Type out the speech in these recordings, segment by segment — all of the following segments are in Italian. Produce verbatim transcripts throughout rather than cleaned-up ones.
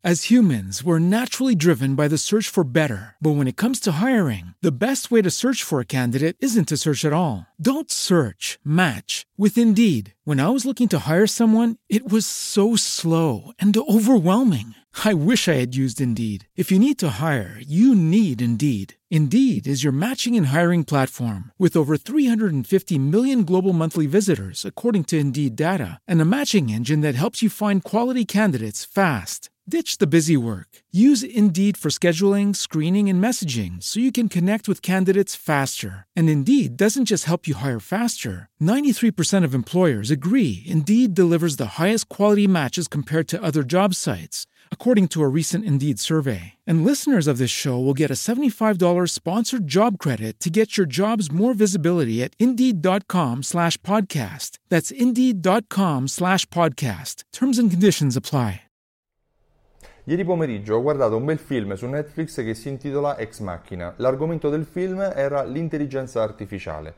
As humans, we're naturally driven by the search for better. But when it comes to hiring, the best way to search for a candidate isn't to search at all. Don't search, match with Indeed. When I was looking to hire someone, it was so slow and overwhelming. I wish I had used Indeed. If you need to hire, you need Indeed. Indeed is your matching and hiring platform with over three hundred fifty million global monthly visitors, according to Indeed data, and a matching engine that helps you find quality candidates fast. Ditch the busy work. Use Indeed for scheduling, screening, and messaging so you can connect with candidates faster. And Indeed doesn't just help you hire faster. ninety-three percent of employers agree Indeed delivers the highest quality matches compared to other job sites, according to a recent Indeed survey. And listeners of this show will get a seventy-five dollars sponsored job credit to get your jobs more visibility at Indeed.com slash podcast. That's Indeed.com slash podcast. Terms and conditions apply. Ieri pomeriggio ho guardato un bel film su Netflix che si intitola Ex Machina. L'argomento del film era l'intelligenza artificiale.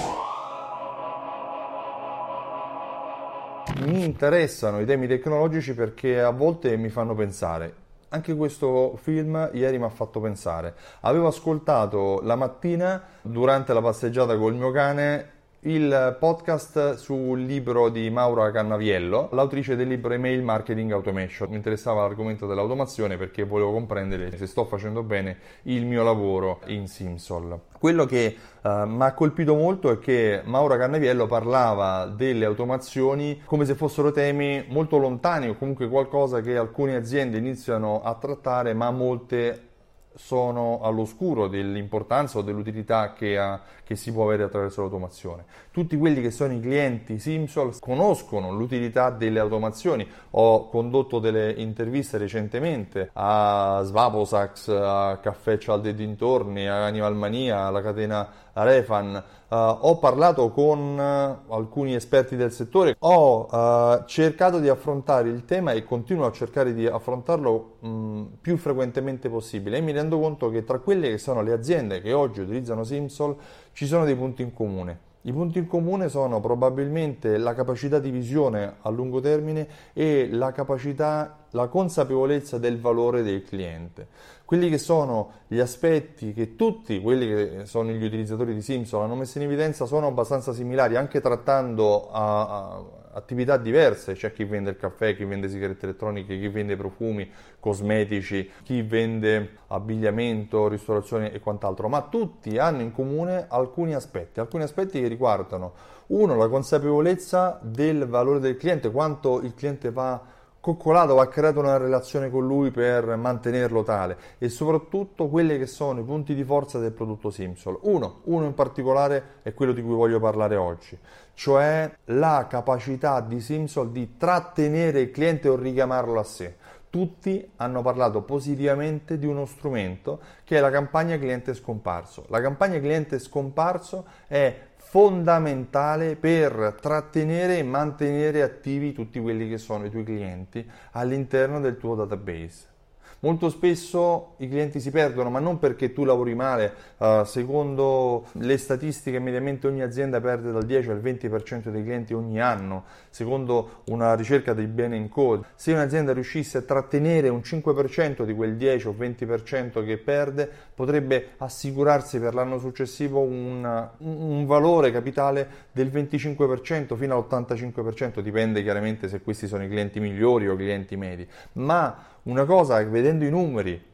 Mi interessano i temi tecnologici perché a volte mi fanno pensare. Anche questo film ieri mi ha fatto pensare. Avevo ascoltato la mattina, durante la passeggiata col mio cane, il podcast sul libro di Maura Cannaviello, l'autrice del libro Email Marketing Automation. Mi interessava l'argomento dell'automazione perché volevo comprendere se sto facendo bene il mio lavoro in Simsol. Quello che uh, mi ha colpito molto è che Maura Cannaviello parlava delle automazioni come se fossero temi molto lontani o comunque qualcosa che alcune aziende iniziano a trattare, ma molte sono all'oscuro dell'importanza o dell'utilità che, ha, che si può avere attraverso l'automazione. Tutti quelli che sono i clienti Simsol conoscono l'utilità delle automazioni. Ho condotto delle interviste recentemente a Svaposax, a Caffè Cialde e dintorni, a Animal Mania, alla catena Refan. Uh, ho parlato con uh, alcuni esperti del settore, ho uh, cercato di affrontare il tema e continuo a cercare di affrontarlo mh, più frequentemente possibile, e mi rendo conto che tra quelle che sono le aziende che oggi utilizzano Simsol ci sono dei punti in comune. I punti in comune sono probabilmente la capacità di visione a lungo termine e la capacità, la consapevolezza del valore del cliente. Quelli che sono gli aspetti che tutti quelli che sono gli utilizzatori di Simsol hanno messo in evidenza sono abbastanza similari, anche trattando a, a attività diverse. C'è chi vende il caffè, chi vende sigarette elettroniche, chi vende profumi, cosmetici, chi vende abbigliamento, ristorazione e quant'altro, ma tutti hanno in comune alcuni aspetti, alcuni aspetti che riguardano, uno, la consapevolezza del valore del cliente, quanto il cliente va coccolato, va creato una relazione con lui per mantenerlo tale, e soprattutto quelli che sono i punti di forza del prodotto Simsol. Uno, uno in particolare è quello di cui voglio parlare oggi, cioè la capacità di Simsol di trattenere il cliente o richiamarlo a sé. Tutti hanno parlato positivamente di uno strumento che è la campagna cliente scomparso. La campagna cliente scomparso è fondamentale per trattenere e mantenere attivi tutti quelli che sono i tuoi clienti all'interno del tuo database. Molto spesso i clienti si perdono, ma non perché tu lavori male. Uh, secondo le statistiche, mediamente ogni azienda perde dal dieci al venti per cento dei clienti ogni anno, secondo una ricerca di Bain and Co. Se un'azienda riuscisse a trattenere un cinque per cento di quel dieci o venti per cento che perde, potrebbe assicurarsi per l'anno successivo un, un valore capitale del venticinque per cento fino all'ottantacinque per cento, dipende chiaramente se questi sono i clienti migliori o clienti medi. Ma una cosa, vedendo i numeri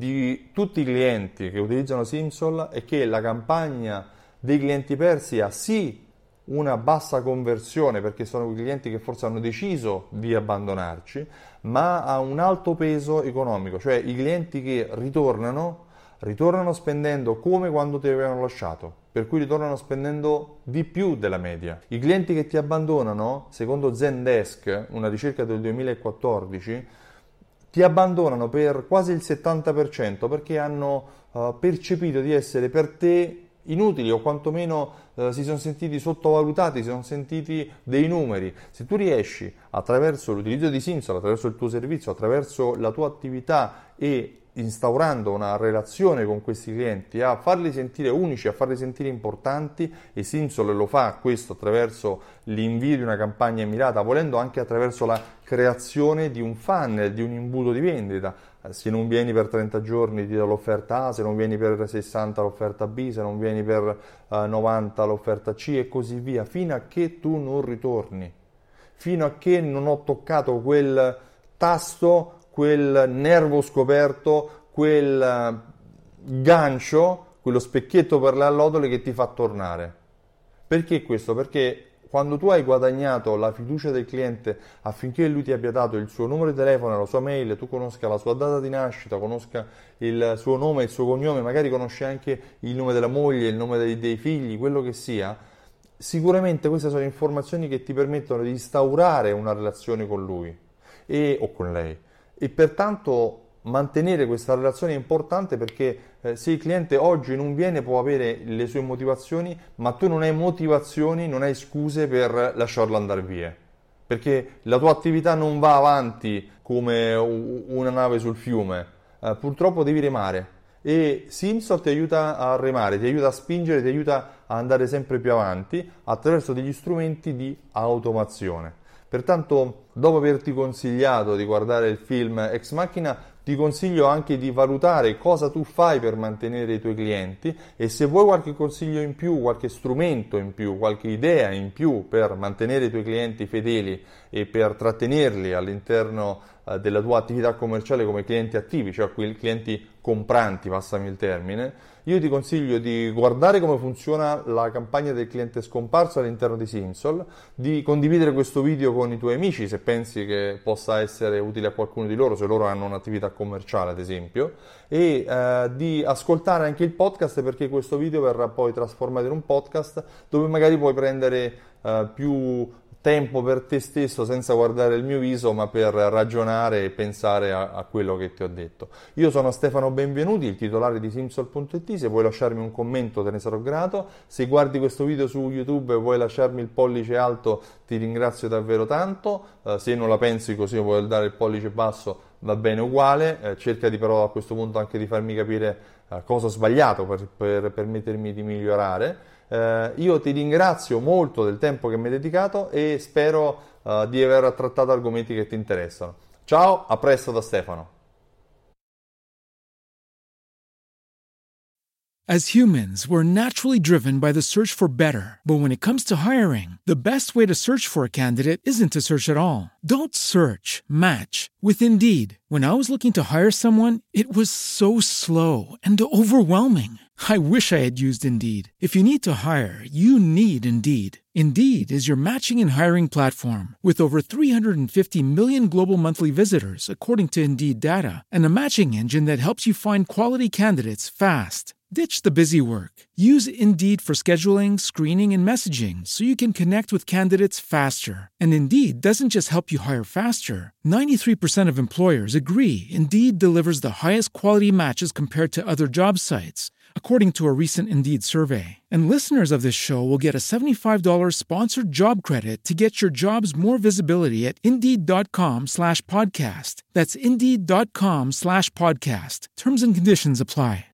di tutti i clienti che utilizzano Simsol, è che la campagna dei clienti persi ha sì una bassa conversione, perché sono quei clienti che forse hanno deciso di abbandonarci, ma ha un alto peso economico, cioè i clienti che ritornano, ritornano spendendo come quando ti avevano lasciato, per cui ritornano spendendo di più della media. I clienti che ti abbandonano, secondo Zendesk, una ricerca del duemilaquattordici, ti abbandonano per quasi il settanta per cento perché hanno uh, percepito di essere per te inutili, o quantomeno uh, si sono sentiti sottovalutati, si sono sentiti dei numeri. Se tu riesci, attraverso l'utilizzo di Simsol, attraverso il tuo servizio, attraverso la tua attività e instaurando una relazione con questi clienti, a farli sentire unici, a farli sentire importanti, e Simsol lo fa questo attraverso l'invio di una campagna mirata, volendo anche attraverso la creazione di un funnel, di un imbuto di vendita. Se non vieni per trenta giorni ti do l'offerta A, se non vieni per sessanta l'offerta B, se non vieni per uh, novanta l'offerta C e così via, fino a che tu non ritorni, fino a che non ho toccato quel tasto, quel nervo scoperto, quel gancio, quello specchietto per le allodole che ti fa tornare. Perché questo? Perché quando tu hai guadagnato la fiducia del cliente affinché lui ti abbia dato il suo numero di telefono, la sua mail, tu conosca la sua data di nascita, conosca il suo nome, il suo cognome, magari conosci anche il nome della moglie, il nome dei, dei figli, quello che sia, sicuramente queste sono informazioni che ti permettono di instaurare una relazione con lui e, o con lei. E pertanto mantenere questa relazione è importante, perché eh, se il cliente oggi non viene può avere le sue motivazioni, ma tu non hai motivazioni, non hai scuse per lasciarlo andare via, perché la tua attività non va avanti come una nave sul fiume, eh, purtroppo devi remare, e Simsol ti aiuta a remare, ti aiuta a spingere, ti aiuta a andare sempre più avanti attraverso degli strumenti di automazione. Pertanto, dopo averti consigliato di guardare il film Ex Machina, ti consiglio anche di valutare cosa tu fai per mantenere i tuoi clienti, e se vuoi qualche consiglio in più, qualche strumento in più, qualche idea in più per mantenere i tuoi clienti fedeli e per trattenerli all'interno eh, della tua attività commerciale come clienti attivi, cioè clienti compranti, passami il termine, io ti consiglio di guardare come funziona la campagna del cliente scomparso all'interno di Simsol, di condividere questo video con i tuoi amici se pensi che possa essere utile a qualcuno di loro, se loro hanno un'attività commerciale ad esempio, e eh, di ascoltare anche il podcast, perché questo video verrà poi trasformato in un podcast dove magari puoi prendere eh, più tempo per te stesso senza guardare il mio viso, ma per ragionare e pensare a, a quello che ti ho detto. Io sono Stefano Benvenuti, il titolare di Simsol punto it, se vuoi lasciarmi un commento te ne sarò grato, se guardi questo video su YouTube e vuoi lasciarmi il pollice alto ti ringrazio davvero tanto, uh, se non la pensi così e vuoi dare il pollice basso va bene uguale, eh, cerca di però a questo punto anche di farmi capire uh, cosa ho sbagliato per, per permettermi di migliorare. Uh, io ti ringrazio molto del tempo che mi hai dedicato e spero uh, di aver trattato argomenti che ti interessano. Ciao, a presto da Stefano. As humans, we're naturally driven by the search for better. But when it comes to hiring, the best way to search for a candidate isn't to search at all. Don't search, match with Indeed. When I was looking to hire someone, it was so slow and overwhelming. I wish I had used Indeed. If you need to hire, you need Indeed. Indeed is your matching and hiring platform with over three hundred fifty million global monthly visitors, according to Indeed data, and a matching engine that helps you find quality candidates fast. Ditch the busy work. Use Indeed for scheduling, screening, and messaging so you can connect with candidates faster. And Indeed doesn't just help you hire faster. ninety-three percent of employers agree Indeed delivers the highest quality matches compared to other job sites, according to a recent Indeed survey. And listeners of this show will get a seventy-five dollars sponsored job credit to get your jobs more visibility at Indeed.com slash podcast. That's Indeed.com slash podcast. Terms and conditions apply.